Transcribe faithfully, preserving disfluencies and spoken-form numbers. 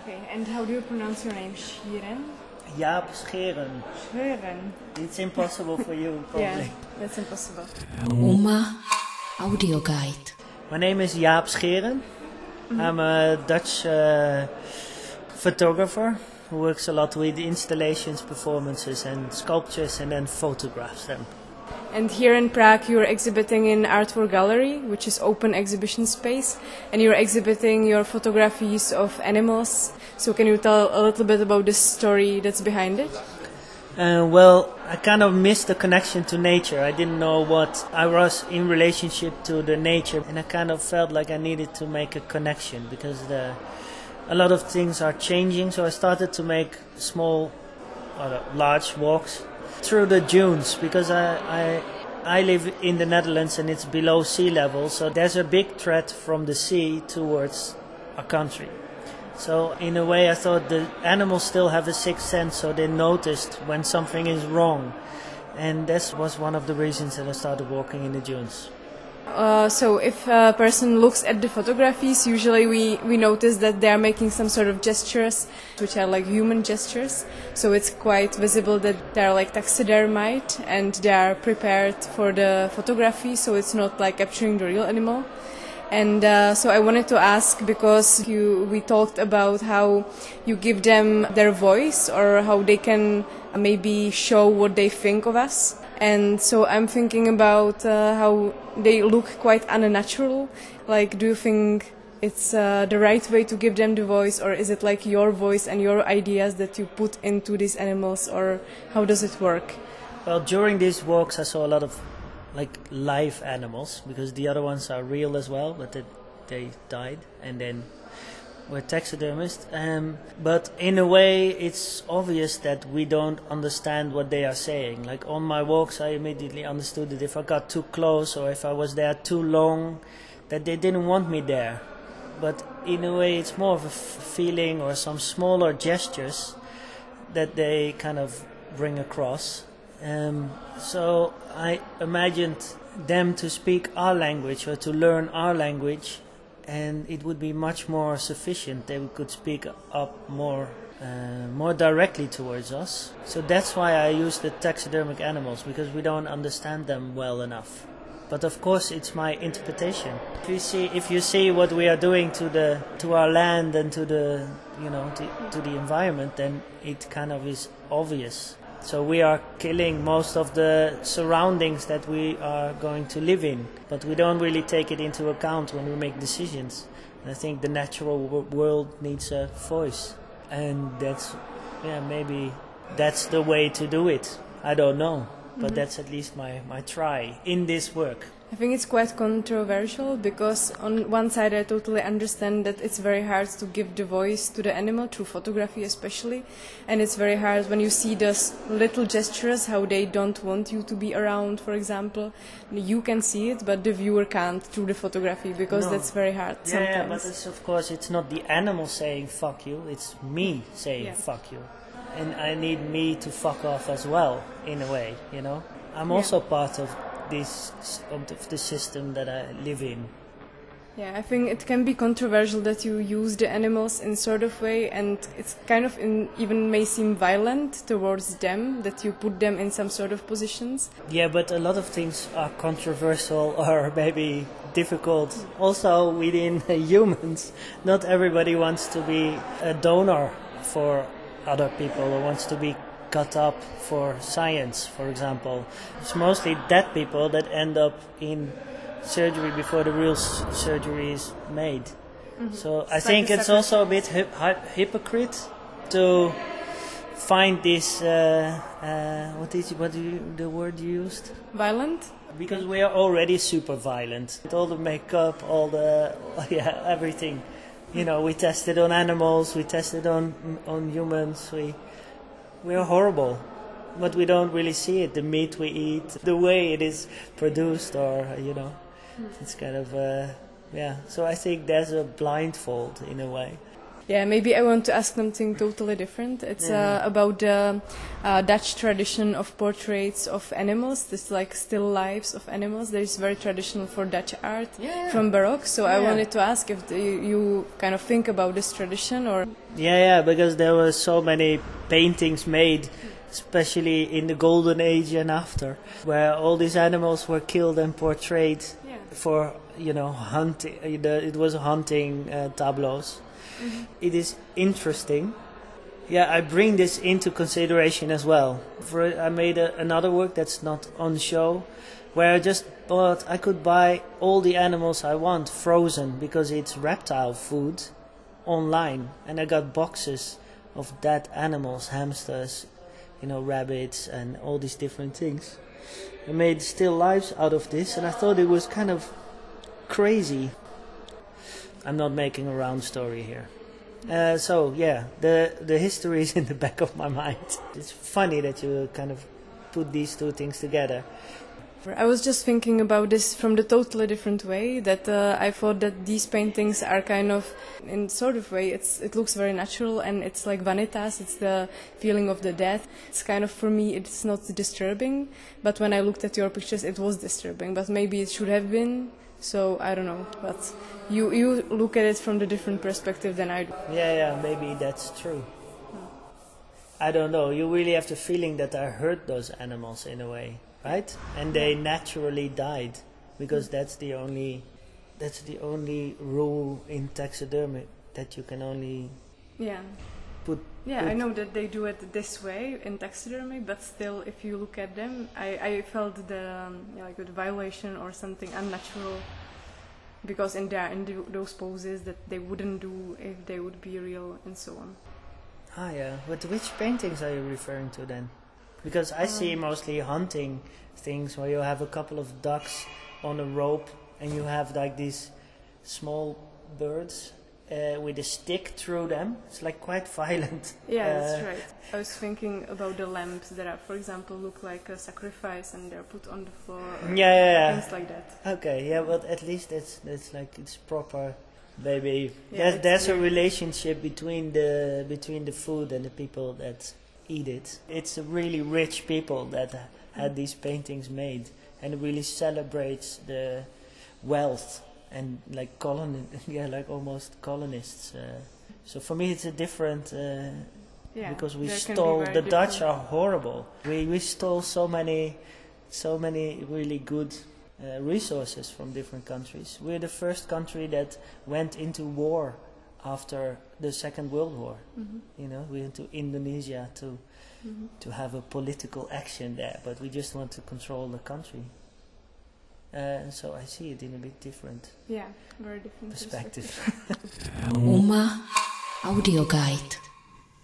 Okay, and how do you pronounce your name? Shiren? Jaap Scheren. Scheren. It's impossible for you, probably. Yeah, that's impossible. Uma Audio Guide. My name is Jaap Scheren. Mm-hmm. I'm a Dutch uh, photographer who works a lot with installations, performances and sculptures and then photographs them. And here in Prague you're exhibiting in Artwork Gallery, which is open exhibition space, and you're exhibiting your photographies of animals. So can you tell a little bit about the story that's behind it? Uh, well, I kind of missed the connection to nature. I didn't know what I was in relationship to the nature, and I kind of felt like I needed to make a connection because the, a lot of things are changing. So I started to make small or large walks through the dunes because I, I I live in the Netherlands and it's below sea level, so there's a big threat from the sea towards our country. So in a way I thought the animals still have a sixth sense, so they noticed when something is wrong, and this was one of the reasons that I started walking in the dunes. Uh, so if a person looks at the photographies, usually we, we notice that they are making some sort of gestures which are like human gestures. So it's quite visible that they are like taxidermied and they are prepared for the photography, so it's not like capturing the real animal. And uh, so I wanted to ask, because you, we talked about how you give them their voice or how they can maybe show what they think of us. And so I'm thinking about uh, how they look quite unnatural. Like, do you think it's uh, the right way to give them the voice, or is it like your voice and your ideas that you put into these animals, or how does it work? Well, during these walks I saw a lot of like live animals, because the other ones are real as well, but they, they died and then were taxidermist. Um, but in a way it's obvious that we don't understand what they are saying. Like on my walks I immediately understood that if I got too close or if I was there too long, that they didn't want me there. But in a way it's more of a f- feeling or some smaller gestures that they kind of bring across. Um, so I imagined them to speak our language or to learn our language, and it would be much more sufficient. They could speak up more uh, more directly towards us. So that's why I use the taxidermic animals, because we don't understand them well enough. But of course it's my interpretation. If you see if you see what we are doing to the to our land and to the you know to, to the environment, then it kind of is obvious. So we are killing most of the surroundings that we are going to live in, but we don't really take it into account when we make decisions. And I think the natural w- world needs a voice, and that's, yeah, maybe that's the way to do it. I don't know, but mm-hmm. that's at least my, my try in this work. I think it's quite controversial, because on one side I totally understand that it's very hard to give the voice to the animal, through photography especially, and it's very hard when you see those little gestures, how they don't want you to be around, for example. You can see it, but the viewer can't through the photography, because no. that's very hard yeah, sometimes. Yeah, but it's, of course it's not the animal saying fuck you, it's me saying yeah. fuck you. And I need me to fuck off as well, in a way, you know. I'm yeah. also part of this of the system that I live in. Yeah, I think it can be controversial that you use the animals in sort of way, and it's kind of in, even may seem violent towards them, that you put them in some sort of positions. Yeah, but a lot of things are controversial or maybe difficult. Also within humans, not everybody wants to be a donor for other people or wants to be cut up for science, for example. It's mostly dead people that end up in surgery before the real s- surgery is made. Mm-hmm. So it's I like think it's also a bit hip- hip- hypocrite to find this uh, uh, what is what do you, the word you used? Violent? Because we are already super violent. With all the makeup, all the yeah everything. You know, we tested on animals, we tested on on humans. We We are horrible, but we don't really see it. The meat we eat, the way it is produced, or, you know, it's kind of, uh, yeah. So I think there's a blindfold in a way. Yeah, maybe I want to ask something totally different. It's Yeah. uh, about the uh, Dutch tradition of portraits of animals. This like still lives of animals. That is very traditional for Dutch art Yeah. from Baroque. So I Yeah. wanted to ask if the, you, you kind of think about this tradition or. Yeah, yeah, because there were so many paintings made, especially in the Golden Age and after, where all these animals were killed and portrayed Yeah. for, you know, hunting. uh, the- It was hunting uh, tableaus. Mm-hmm. It is interesting. Yeah, I bring this into consideration as well. For I made a, another work that's not on show, where I just bought. I could buy all the animals I want frozen because it's reptile food online, and I got boxes of dead animals, hamsters, you know, rabbits, and all these different things. I made still lives out of this, and I thought it was kind of crazy. I'm not making a round story here. Uh, so yeah, the the history is in the back of my mind. It's funny that you kind of put these two things together. I was just thinking about this from the totally different way. That uh, I thought that these paintings are kind of, in sort of way, it's it looks very natural and it's like vanitas. It's the feeling of the death. It's kind of, for me, it's not disturbing. But when I looked at your pictures, it was disturbing. But maybe it should have been. So I don't know. But you you look at it from the different perspective than I do. Yeah, yeah, maybe that's true. I don't know. You really have the feeling that I hurt those animals in a way, right? And they naturally died, because that's the only that's the only rule in taxidermy, that you can only Yeah. put. Yeah, put I know that they do it this way in taxidermy, but still, if you look at them, I, I felt the um, yeah, like the violation or something unnatural, because in there in the, those poses that they wouldn't do if they would be real and so on. Ah, yeah. But which paintings are you referring to then? Because I see mostly hunting things where you have a couple of ducks on a rope and you have like these small birds uh, with a stick through them. It's like quite violent. Yeah, Uh, that's right. I was thinking about the lamps that are, for example, look like a sacrifice and they're put on the floor. Or Yeah, yeah, yeah. things like that. Okay, yeah, but at least it's it's like it's proper. Maybe Yeah, there's it's there's a weird. relationship between the between the food and the people that eat it. It's a really rich people that had these paintings made, and it really celebrates the wealth and like colon yeah like almost colonists. Uh, so for me it's a different. Uh, Yeah, because we there can be stole very the Dutch different- are horrible. We we stole so many so many really good uh, resources from different countries. We're the first country that went into war after the Second World War. Mhm. You know, we went to Indonesia to Mhm. to have a political action there, but we just want to control the country. Uh, so I see it in a bit different Yeah, very different perspective. Uma Audio Guide.